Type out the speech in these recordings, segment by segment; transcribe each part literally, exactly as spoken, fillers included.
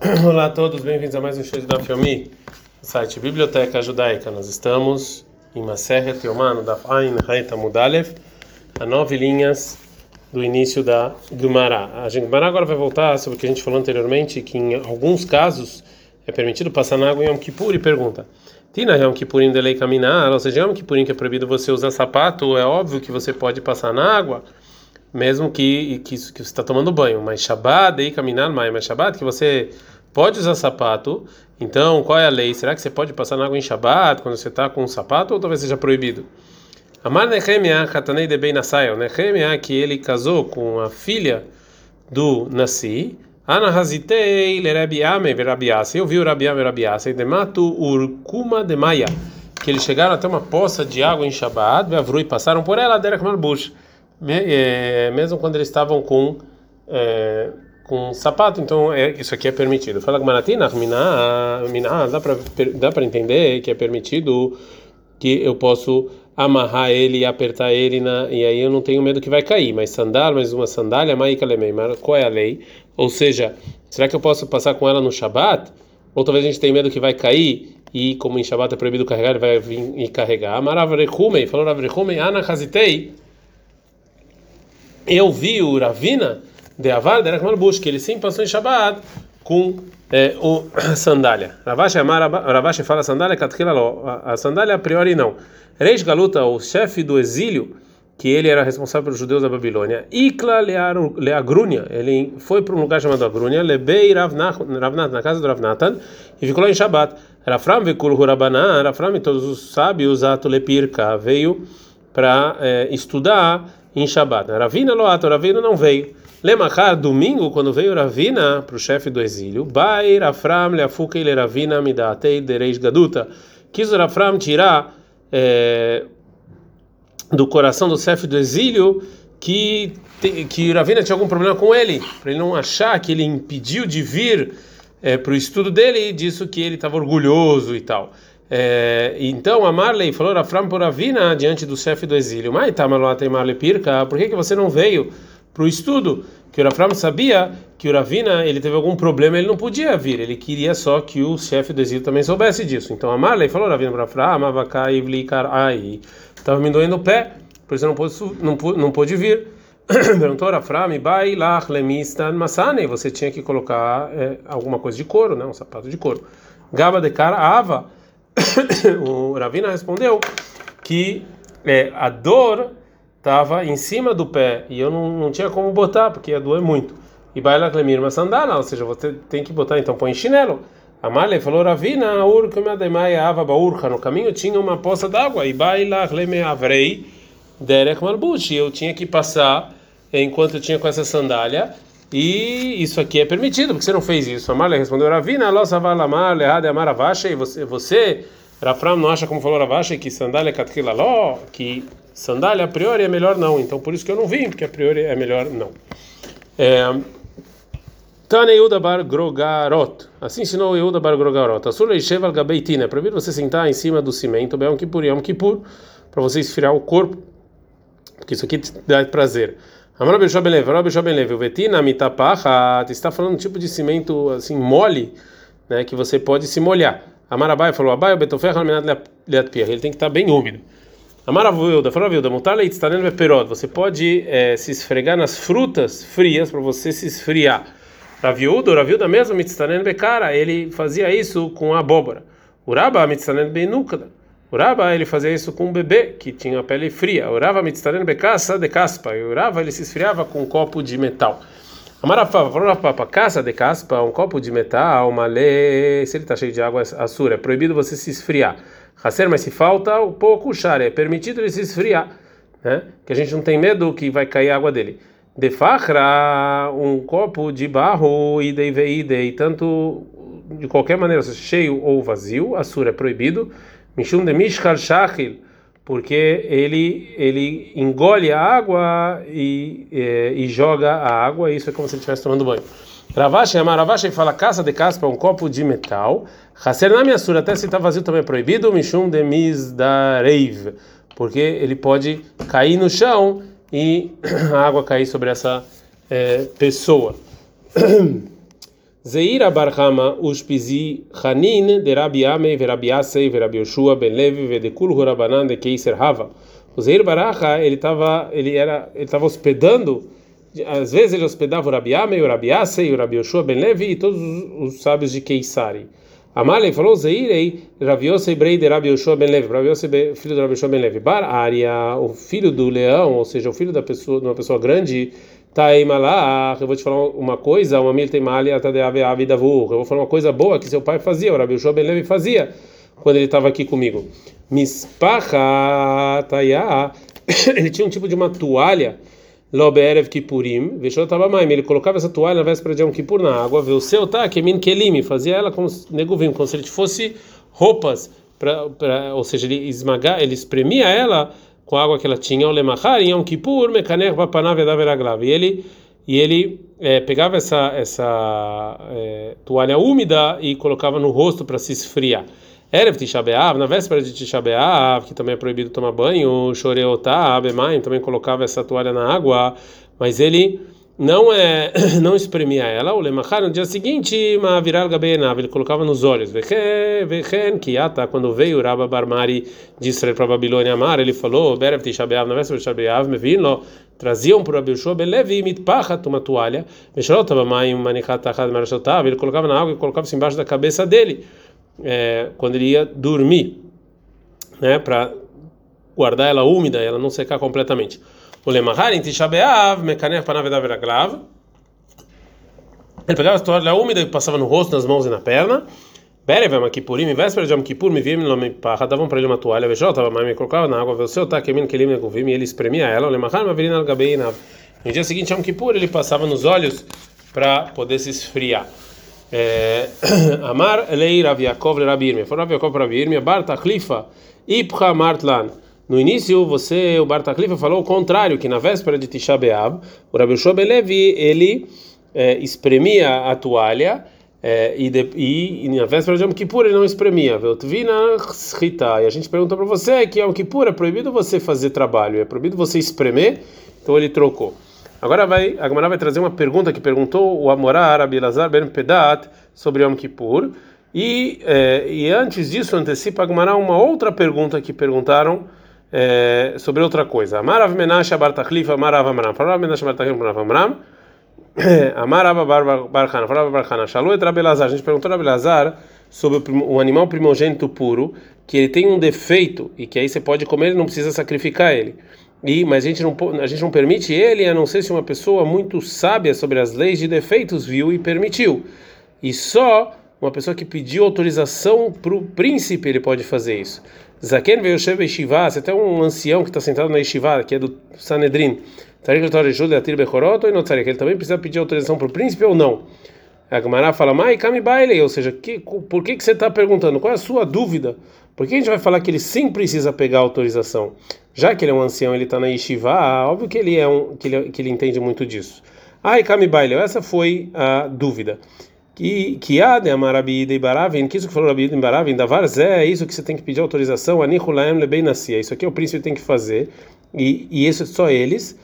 Olá a todos, bem-vindos a mais um show de Daf Yomi, site Biblioteca Judaica. Nós estamos em Maseret Yomá, no Daf Ain Hayt Amud Aleph, a nove linhas do início da Gemara. A Gemara agora vai voltar sobre o que a gente falou anteriormente, que em alguns casos é permitido passar na água em Yom Kippur, e pergunta: Tina Yom Kippurim de lei caminar, ou seja, Yom Kippurim que é proibido você usar sapato, é óbvio que você pode passar na água, mesmo que, que, que você está tomando banho, mas Shabbat, e caminhar, mas Shabbat, que você pode usar sapato, então qual é a lei? Será que você pode passar na água em Shabbat, quando você está com um sapato, ou talvez seja proibido? Amar Nehemiah, Hatanei de Ben Nassai, Nehemiah, que ele casou com a filha do Nassi, Ana Hazitei, Lerabi Ame, Verabi Asa, eu vi o Rabi Ame, Verabi Asa, e Dematu Urkuma de Maia, que eles chegaram até uma poça de água em Shabbat, Beavru, e passaram por ela, Derek Malbush, mesmo quando eles estavam com é, com sapato, então é, isso aqui é permitido. Fala Gmaratina, Miná, dá para dá para entender que é permitido, que eu posso amarrar ele e apertar ele na, e aí eu não tenho medo que vai cair, mas sandália, mais uma sandália, maikalemei, qual é a lei? Ou seja, será que eu posso passar com ela no Shabat? Ou talvez a gente tenha medo que vai cair, e como em Shabat é proibido carregar, ele vai vir e carregar. Amaravrechumei, falou Ravrechumei, Ana Hazitei, eu vi o Ravina de Avar Derek Malbush, que ele sim passou em Shabbat com é, o sandália. Ravashi Amar, Ravashi fala sandália, a, a sandália a priori não. Reis Galuta, o chefe do exílio, que ele era responsável pelos judeus da Babilônia, Ikla Leagrunia, ele foi para um lugar chamado Agrunia, Lebei Ravnat, na casa do Ravnatan, e ficou lá em Shabbat. Rafram Vekul Hurabanan, Rafram e todos os sábios, Atulepirka, veio para é, estudar em Shabbat. Ravina Loato, Ravina não veio. Lemachar, domingo, quando veio Ravina para o chefe do exílio, Bai Rafram Leafuka ele Ravina Midatei Dereis Gaduta, quis o Rafram tirar é, do coração do chefe do exílio que que Ravina tinha algum problema com ele, para ele não achar que ele impediu de vir é, para o estudo dele, e disso que ele estava orgulhoso e tal. É, então a Marley falou Rafram por Ravina diante do chefe do exílio, mas tá Marley Marley Pirka, por que que você não veio para o estudo? Que o Rafram sabia que o Ravina ele teve algum problema, ele não podia vir, ele queria só que o chefe do exílio também soubesse disso. Então a Marley falou Ravina para Rafram, Avakai Ivlikar ai, estava me doendo o pé, por isso eu não pôde não pôde, não pôde vir. Perguntou Rafram, Bai lach lemistan masane, você tinha que colocar é, alguma coisa de couro, né, um sapato de couro. Gaba de cara ava. O Ravina respondeu que é, a dor estava em cima do pé e eu não, não tinha como botar porque ia doer muito. E baila clemir uma sandália, ou seja, você tem que botar, então põe chinelo. A Marley falou Ravina, no caminho tinha uma poça d'água e baila clemir avrei derek malbush, eu tinha que passar enquanto eu tinha com essa sandália. E isso aqui é permitido, porque você não fez isso. A Marley respondeu Ravina, lossa vala Marley, errado é amar Ravashi, e você, você, Rafram, não acha como falou Ravashi que sandália katkila ló, que sandália a priori é melhor não, então por isso que eu não vim, porque a priori é melhor não. Tane Yehuda bar Grogarot, assim ensinou Yehuda bar Grogarot. Asur leishev al gabeitina, é proibido você sentar em cima do cimento, bem um kippur, Yom Kippur, para você esfriar o corpo, porque isso aqui te dá prazer. Amar Bishop Ben Levi, Bishop Ben Levi, o vetina mitapacha, está falando um tipo de cimento assim mole, né, que você pode se molhar. Amar Abai falou Abai, o betofer almenat leat pia, ele tem que estar bem úmido. Amar Avuilda, falou Avuilda, mutar leit está nele perod, você pode é, se esfregar nas frutas frias para você se esfriar. Raviuda, o Raviuda mesmo mitzanen bekara, ele fazia isso com a abóbora. Uraba mitzanen benukada. Urava ele fazia isso com um bebê que tinha a pele fria. Urava mitzaren bekasa de caspa. E Urava ele se esfriava com um copo de metal. Amarafava, falou caça de caspa, um copo de metal, malê, se ele está cheio de água assura, é proibido você se esfriar. Haser, mas se falta um pouco, char, é permitido ele se esfriar, né? Que a gente não tem medo que vai cair a água dele. De fachra, um copo de barro, idei veidei, tanto de qualquer maneira, cheio ou vazio, assura é proibido. Mishum de mishkal shachil, porque ele ele engole a água e, e, e joga a água, e isso é como se ele estivesse tomando banho. Ravashi, Amar Ravashi fala caça de caspa, um copo de metal. Haser na minha sura, até se está vazio também é proibido. Mishum de misdareiv, porque ele pode cair no chão e a água cair sobre essa é, pessoa. Zeira Barhama Ushpizi Hanin de Rabi Amei Verabi Asei Verabi Yoshua Ben Levi Vedekul Hurabanan de Keiser Hava. O Zeir Baraha, ele estava ele era ele estava hospedando, às vezes ele hospedava o Rabi Amei, o Rabi Asei, o Rabi Yoshua Ben Levi e todos os, os sábios de Keisari. Amalei falou Zeirei Rabi Yosei Brei de Rabi Yoshua Ben Levi, Rabi Yosei filho de Rabi Yoshua Ben Levi. Bar Aria, o filho do leão, ou seja, o filho da pessoa, de uma pessoa grande. Taimalach, eu vou te falar uma coisa, uma milta imalia tadeave avidavu. Eu vou falar uma coisa boa que seu pai fazia, o Rabi Yoshua Ben Levi fazia quando ele estava aqui comigo. Mispacha taya, ele tinha um tipo de uma toalha, loberev kipurim, veshot tabamaim, ele colocava essa toalha na véspera de Yom Kippur na água, o seu tá que min kelim, fazia ela como neguvim, como se ele fosse roupas, pra, pra, ou seja, ele esmagar, ele espremia ela com a água que ela tinha, o lemachar em Yom Kippur, mekaner vapanav edaveraglav. E ele e ele é, pegava essa essa é, toalha úmida e colocava no rosto para se esfriar. Erev Tisha B'Av, na véspera de Tisha B'Av, que também é proibido tomar banho, Shoreotá, Bemaim, também colocava essa toalha na água, mas ele não é não espremia ela. O lemachar no dia seguinte, ma viral gabenav, ele colocava nos olhos. Vechen kiata, quando veio Rabba Barmari de Israel para Babilônia Amar, ele falou: Berev Tisha B'Av, na véspera de Tisha B'Av, me vinlo, traziam para Rabi Yoshua Ben Levi mitpachat, uma toalha, Meshrot Bamaim manichat achad marashotav, ele colocava na água e colocava-se embaixo da cabeça dele, é, quando ele ia dormir, né, para guardar ela úmida, ela não secar completamente. O lemachar em Tisha B'Av, mekaner panav edaveraglav, ele pegava a toalha úmida e passava no rosto, nas mãos e na perna. Berev Yom Kippurim, em véspera de Yom Kippur, me via me pacha, davam para ele uma toalha, vejou, tava mais me colocava na água, o seu tá kemin kelim neguvim, e ele espremia ela. O lemachar mavirina al-gabeinav. No dia seguinte Yom Kippur, ele passava nos olhos para poder se esfriar. Amar lei Rav Yaakov le Rabi Yirmiyah, foi Rav Yaakov para Rabi Yirmiyah, bar tachlifa ipcha martlan. No início, você, o bar tachlifa, falou o contrário, que na véspera de Tisha B'Av, o Rabi Yoshua Ben Levi, ele é, espremia a toalha, é, e, de, e, e na véspera de Yom Kippur ele não espremia. E a gente perguntou para você que Yom Kippur é proibido você fazer trabalho, é proibido você espremer, então ele trocou. Agora vai, a Gemara vai trazer uma pergunta que perguntou o Amorá Rabi Elazar ben Pedat sobre Yom Kippur, e, é, e antes disso antecipa a Gemara uma outra pergunta que perguntaram é, sobre outra coisa. Amarav Menashe bar Tachlifa, Amarav Amram, Amarav Menashe bar Tachlifa, Amarav Amram, Amarav bar Chana, Amarav bar Chana, Shalou et Rabi Elazar. A gente perguntou a Rabi Elazar sobre o animal primogênito puro, que ele tem um defeito e que aí você pode comer e não precisa sacrificar ele. E, mas a gente, não, a gente não permite ele, a não ser se uma pessoa muito sábia sobre as leis de defeitos viu e permitiu. E só uma pessoa que pediu autorização para o príncipe ele pode fazer isso. Zaken veio Shev Yeshiva, se até um ancião que está sentado na Yeshiva, que é do Sanedrin, que ele também precisa pedir autorização para o príncipe ou não? A Gemara fala, Mai Kami Baile, ou seja, que, por que, que você está perguntando? Qual é a sua dúvida? Por que a gente vai falar que ele sim precisa pegar autorização? Já que ele é um ancião, ele está na Yeshiva, óbvio que ele é um que ele, que ele entende muito disso. Ai Kami Baile, essa foi a dúvida. Que que há de Amarabi de Baravin, que isso que falou Rabi de Baravin, da Varzé, é isso que você tem que pedir autorização, Anihulaem lebei nascia. Isso aqui é o príncipe tem que fazer, e e isso é só eles.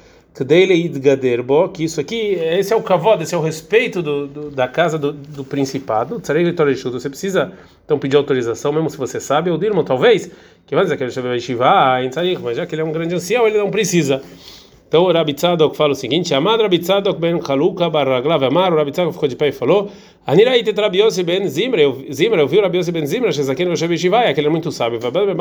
Que isso aqui, esse é o kavod, esse é o respeito do, do, da casa do, do principado. Você precisa então pedir autorização, mesmo se você sabe, ou dirmo talvez, que vai dizer que ele vai Shiva, mas já que ele é um grande ancião, ele não precisa. Então o Rabi Tzadok fala o seguinte: Amad Rabi Tzadok ben Chaluka bar Raglav Amar, o Rabi Tzadok ficou de pé e falou: Anirai tet Rabi Yossi ben Zimra, Zimra, eu vi o Rabi Yossi ben Zimra, Shezaken Yoshev Shiva, que ele é muito sábio,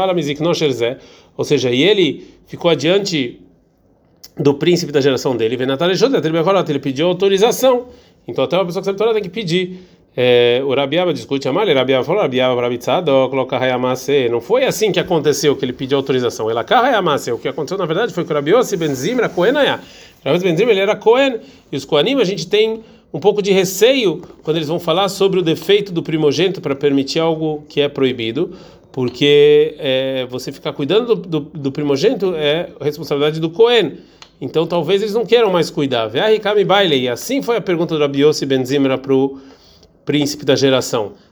ou seja, e ele ficou adiante do príncipe da geração dele, ele pediu autorização. Então até uma pessoa que sabe Torá tem que pedir. É, o Rabi Abba discute a malha, Rabi Abba falou, Rabi Abba, Rabi Tzadok, coloca Hayamase. Não foi assim que aconteceu que ele pediu autorização. Ela cá Hayamase. O que aconteceu na verdade foi que o Rabi Yossi ben Zimra Cohen Aya. Rabi Yossi ben Zimra ele era Cohen, e os Coanim a gente tem um pouco de receio quando eles vão falar sobre o defeito do primogênito para permitir algo que é proibido, porque é, você ficar cuidando do, do, do primogênito é responsabilidade do Cohen. Então talvez eles não queiram mais cuidar. E assim foi a pergunta do Rabi Yossi ben Zimra para o príncipe da geração.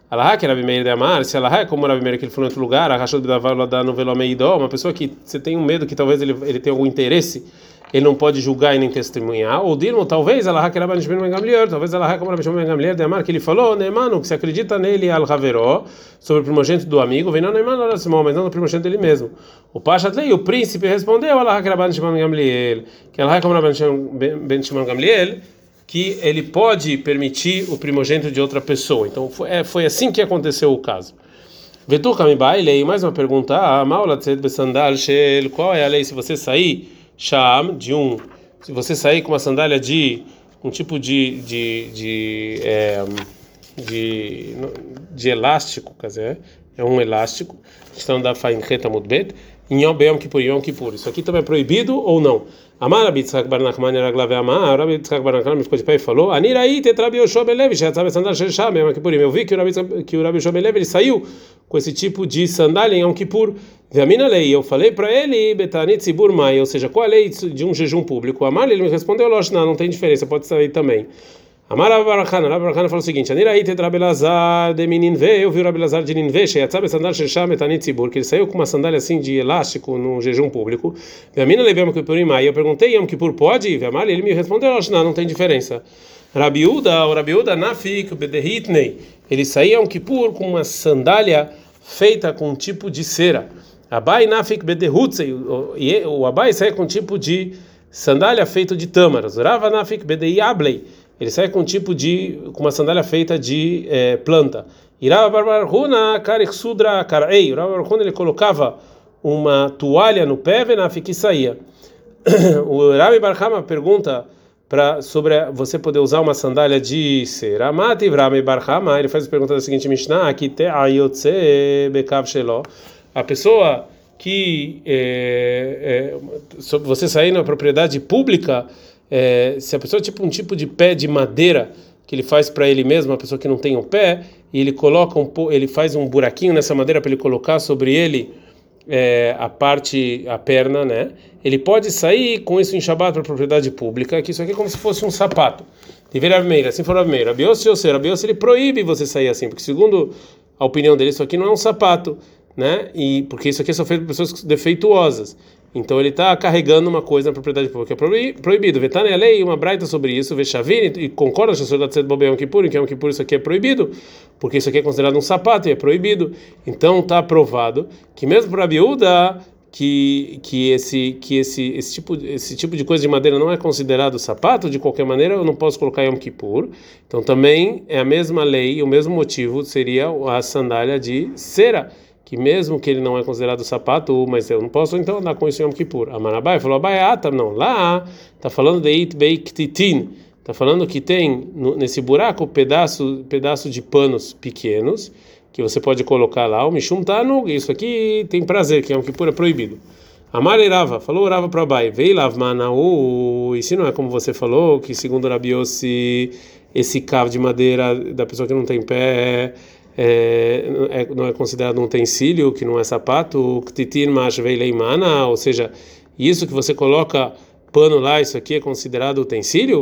Alahá, que Rabi Meir de Amar, se Alahá é como Rabi Meir que ele foi em outro lugar, Arrachou de Davar no Velomeidó, uma pessoa que você tem um medo que talvez ele, ele tenha algum interesse, ele não pode julgar e nem testemunhar, ou Dilmo, talvez Alahá, que Rabi Shimon ben Gamliel, talvez Alahá como Rabi Shimon ben Gamliel de Amar, que ele falou, Neemanu, que se acredita nele al Haveró, sobre o primogênito do amigo, vem não Neemanu, mas não no primogênito dele mesmo. O Pashatlei, o príncipe, respondeu, Alahá, que Rabi Shimon ben Gamliel, que Alahá como Rabi Shimon ben Gamliel, que ele pode permitir o primogênito de outra pessoa. Então foi, é, foi assim que aconteceu o caso. Vetu Kamibailei, mais uma pergunta. Ah, Maula Tzed Besandal Shel, qual é a lei se você sair Sham de um, se você sair com uma sandália de um tipo de de de, é, de, de elástico, quer dizer, é um elástico. Estão da Faincheta Mudbet, em Yom Beyom Kippur, Yom Kippur. Isso aqui também é proibido ou não? Amar Rabi Tzchak bar Nachman Raglave Amar, Rabi Tzchak bar Nachman ficou de pé e falou: Anirai tetrabi Yoshua Belev, sabe sandal Shesham, Yom Kippur. Eu vi que o Rabi que o Rabi Yoshua Belev ele saiu com esse tipo de sandália em Yom Kippur. Veamina lei, eu falei para ele Betani Tzibur Mai, ou seja, qual a lei de um jejum público? Amar ele me respondeu: Losh, não, não tem diferença, pode sair também. Amar Rabi Barachana, Rabi Barachana falou o seguinte: Anirai tetrabi Lazar de Mininve, eu vi o Rabi Lazar de Ninve, sabe sandal Shesham Betani Tzibur, que ele saiu com uma sandália assim de elástico no jejum público. Veamina lei Yom Kippur Mai, eu perguntei Yom Kippur pode? Veamar ele me respondeu: Losh, não, não tem diferença. Rabi Uda, o Rabi Uda Nafik Bedehitnei, ele saía Yom Kippur com uma sandália feita com um tipo de cera. Abai Nafik Bedehutzei, o Abai saía com um tipo de sandália feita de tâmaras. Rava Nafik Bedeiablei, ele sai com um tipo de, com uma sandália feita de é, planta. Irava Barbarhuna Karexudra Karei, o Rava Barbarhuna ele colocava uma toalha no pé, Venafik e saía. O Rabi Barhama pergunta para sobre você poder usar uma sandália de cera. Mati Rabi Barhama, ele faz a pergunta da seguinte Mishnah, que te ayotze bekav shelo, a pessoa que é, é, você sair na propriedade pública, é, se a pessoa tipo um tipo de pé de madeira que ele faz para ele mesmo, a pessoa que não tem um pé, e ele coloca um ele faz um buraquinho nessa madeira para ele colocar sobre ele é, a parte, a perna, né? Ele pode sair com isso em Shabbat para a propriedade pública, que isso aqui é como se fosse um sapato. Deveria Meir, assim for Meir. Rabiose ou ser, Rabiose ele proíbe você sair assim, porque segundo a opinião dele isso aqui não é um sapato, né? E porque isso aqui é só feito por pessoas defeituosas. Então ele está carregando uma coisa na propriedade pública, é proibido. Vetane a lei, uma braita sobre isso, Vechavini, e concorda com a senhora de Bobel Kippur, que é um Kippur, isso aqui é proibido, porque isso aqui é considerado um sapato e é proibido. Então está provado que mesmo para a Biúda, que que esse que esse esse tipo esse tipo de coisa de madeira não é considerado sapato, de qualquer maneira eu não posso colocar Yom Kippur. Então também é a mesma lei, o mesmo motivo seria a sandália de cera, que mesmo que ele não é considerado sapato, mas eu não posso então andar com isso em Yom Kippur. A Manabai falou: Abai, ah, tá, não, lá está falando de It Beiktitin, está falando que tem no, nesse buraco pedaço pedaço de panos pequenos que você pode colocar lá, o Mishum Tanug, isso aqui tem prazer, que é um Kippur é proibido. Amar Rava, falou Rava para Abai, vei Lavmanaú, e se não é como você falou, que segundo Rabi Yossi, esse cavo de madeira da pessoa que não tem pé é, é, não é considerado um utensílio, que não é sapato, Ktitin Mash vei Leimana, ou seja, isso que você coloca pano lá, isso aqui é considerado utensílio,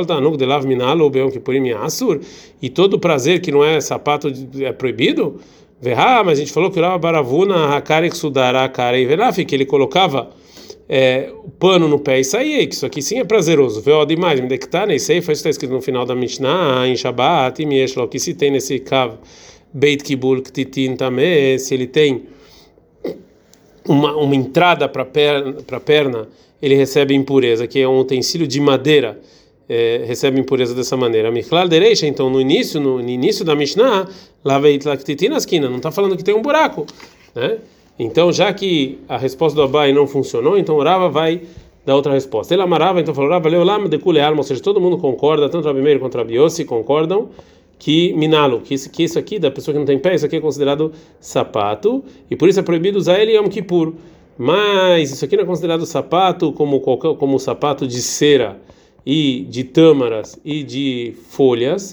e todo prazer que não é sapato é proibido, mas a gente falou que o Baravuna que ele colocava é, o pano no pé e saía, que isso aqui sim é prazeroso. Demais, isso está escrito no final da Mishnah, em Shabbat, que se tem nesse cav Beit Kibul Ktitin também, se ele tem uma, uma entrada para perna, para perna, ele recebe impureza, que é um utensílio de madeira, é, recebe impureza dessa maneira. Michlal derecha, então no início, no, no início da Mishnah, lá veio na esquina, não está falando que tem um buraco, né? Então, já que a resposta do Abai não funcionou, então o Rava vai dar outra resposta. Ele amarava, então falou: Rava leu lá de kulealma, ou seja, todo mundo concorda, tanto Rabi Meir quanto Rabi Yossi concordam que minalo, que isso, que isso aqui da pessoa que não tem pé, isso aqui é considerado sapato e por isso é proibido usar ele em Yom Kippur. Mas isso aqui não é considerado sapato como qualquer, como sapato de cera e de tâmaras e de folhas,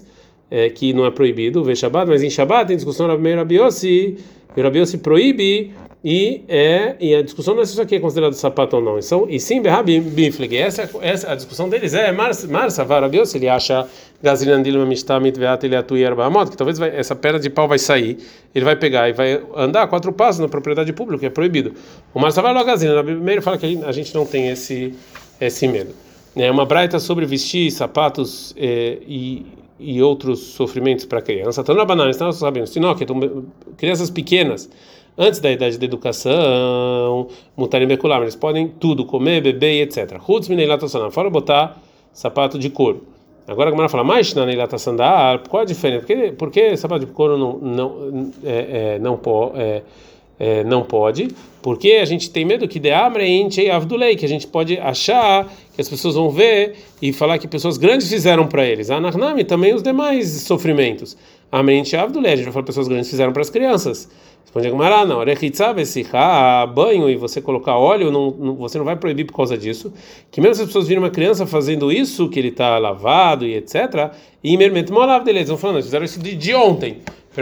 é, que não é proibido, ver Shabbat, mas em Shabbat tem discussão Rabi Meir e Rabi Yossi, e Rabi Yossi proíbe, e, é, e a discussão não é se isso aqui é considerado sapato ou não, e, são, e sim, Berrabi Bifleg, essa, essa, a discussão deles é, Mar Savar Rabi Yossi, ele acha Gazrinan Dilma Mishtamit Veat ele atu Yerba Amot, que talvez vai, essa perna de pau vai sair, ele vai pegar e vai andar quatro passos na propriedade pública, que é proibido. O Mar Savar Lo Gazrinan, Rabi Meir fala que a gente não tem esse, esse medo. É uma braita sobre vestir sapatos eh, e, e outros sofrimentos para criança. Então, na banana, estamos sabendo, crianças pequenas, antes da idade da educação, mutarim bekulam, eles podem tudo, comer, beber e etcétera. Hutz mineilatosana, fora botar sapato de couro. Agora a Gemara fala, mas na neilatasandar, qual a diferença? Porque, porque sapato de couro não, não, é, é, não pode. É, É, não pode, porque a gente tem medo que de amreinte avdulei, que a gente pode achar que as pessoas vão ver e falar que pessoas grandes fizeram para eles. Anarnami também os demais sofrimentos. Amreinte avdulei, a gente vai falar que pessoas grandes fizeram para as crianças. Responde a Gemara, não, banho e você colocar óleo, não, não, você não vai proibir por causa disso. Que mesmo se as pessoas virem uma criança fazendo isso, que ele está lavado e etcétera, e eles vão falando, eles fizeram isso de, de ontem.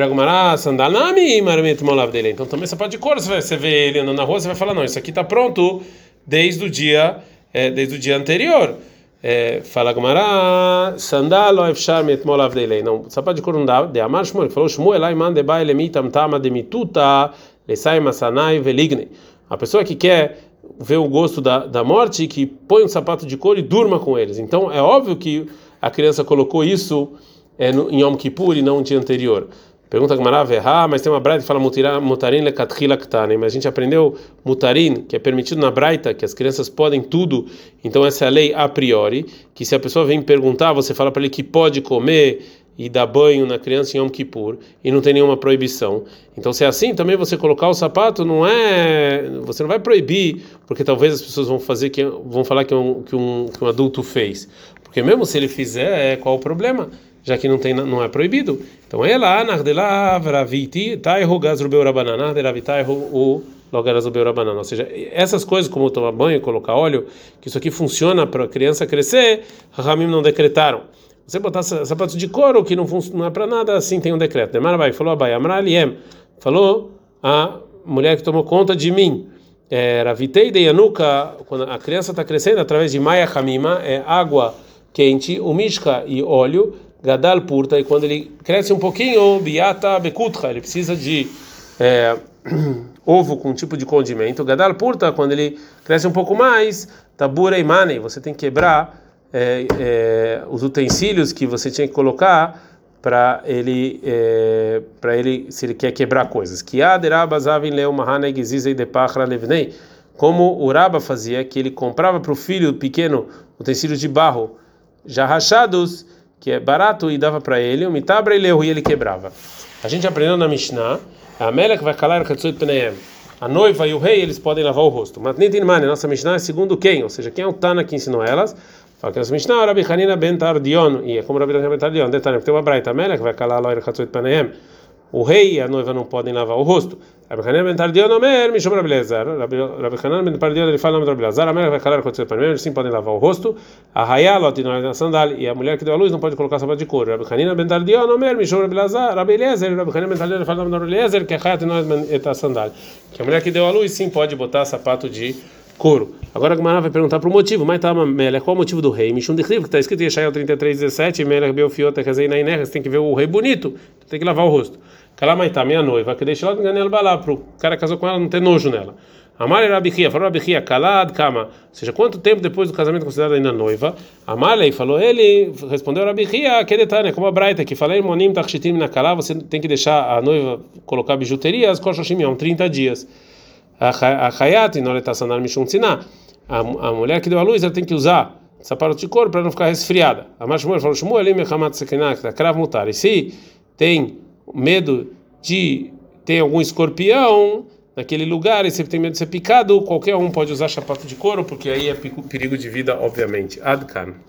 Então também você pode de couro, você, você vê ele andando na rua, você vai falar, não, isso aqui está pronto desde o dia, é, desde o dia anterior. É, fala Gumara, sandalo efshar metmol avdelei. Não, sapato de couro não dá. De Amar Shmuel, falou Shmuel, lá mande ba elemitam tama demituta lesai masanai veligne. A pessoa que quer ver o gosto da, da morte, que põe um sapato de couro e durma com eles. Então é óbvio que a criança colocou isso é, no, em Yom Kippur e não no dia anterior. Pergunta Gemara, ah, mas tem uma braita que fala mutarin lekatchila ktane, mas a gente aprendeu mutarin, que é permitido na braita, que as crianças podem tudo, então essa é a lei a priori, que se a pessoa vem perguntar, você fala para ele que pode comer e dar banho na criança em Yom Kippur, e não tem nenhuma proibição. Então se é assim, também você colocar o sapato não é, você não vai proibir, porque talvez as pessoas vão fazer que vão falar que um, que um, que um adulto fez, porque mesmo se ele fizer, qual o problema? Já que não tem, não é proibido. Então ela anahdelaavraviti tairogazrubeu rabanana deravitairu o logarazubeu rabanana. Ou seja, essas coisas como tomar banho, colocar óleo, que isso aqui funciona para a criança crescer, Rahamim não decretaram. Você botar sapatos de couro que não, não é para nada, assim tem um decreto. Demarabai falou Abai, Amraliem falou a mulher que tomou conta de mim. Ravitei de Yanuka, quando a criança está crescendo através de Maia Hamima, é água quente, umishka e óleo. Gadal purta, e quando ele cresce um pouquinho, biata bekutra, ele precisa de é, ovo com um tipo de condimento. Gadal purta, quando ele cresce um pouco mais, tabura e mane, você tem que quebrar é, é, os utensílios que você tinha que colocar para ele, é, para ele, se ele quer quebrar coisas. Como o Raba fazia, que ele comprava para o filho pequeno utensílios de barro já rachados, que é barato, e dava para ele, o mitabra e leu, e ele quebrava. A gente aprendeu na Mishnah, a Melech vai calar a noiva e o rei, eles podem lavar o rosto. Mas nem tem mane, nossa Mishnah é segundo quem? Ou seja, quem é o Tana que ensinou elas? Fala que nossa Mishnah é Rabi Hanina ben Tardion, e é como Rabi Hanina ben Tardion, detalhe, porque tem uma braita, a Melech vai calar a Katsuit Paneem. O rei e a noiva não podem lavar o rosto. Rabi Hanina ben Tardion, Omer, Mishum Rabi Elazar. Rabi Hanina ben Tardion, ele fala o nome de Rabi Elazar, a Melech vai calar a Katsuit Paneem, eles sim podem lavar o rosto. A Hayalot, na sandália, e a mulher que deu a luz não pode colocar sapato de couro. Rabi Hanina ben Tardion, Omer, Mishum Rabi Elazar, Rabi Elazar, Rabi Hanina ben Tardion, ele fala o nome de Rabi Elazar, que é Hayat e sandália. Que a mulher que deu a luz sim pode botar sapato de couro. Agora a Gemara vai perguntar para o motivo, mas tá, Melech, qual o motivo do rei? Mishum de que está escrito em Yeshayahu trinta e três, dezessete, Melech Beofiota, Kazei Nainerra, você tem que ver o rei bonito, tem que lavar o rosto. Kalamaitá, minha noiva, que deixa ela enganar ela balá, para o cara que casou com ela não ter nojo nela. Amar Rabichia, falou Rabichia, kalad kama, ou seja, quanto tempo depois do casamento considerado ainda noiva? Amalei falou ele, respondeu Rabichia, que detalhe, como a Braita, que falei monim takshitim na kalá, você tem que deixar a noiva colocar bijuteria, as koshashim, há trinta dias. A Hayat, não está sanando mishum tziná, a mulher que deu a luz, ela tem que usar sapato de couro para não ficar resfriada. Amar Shmuel falou Shmuel, ele mechamat sekinak, krav mutar, e se tem medo de ter algum escorpião naquele lugar e você tem medo de ser picado, qualquer um pode usar sapato de couro, porque aí é perigo de vida, obviamente. Adkan.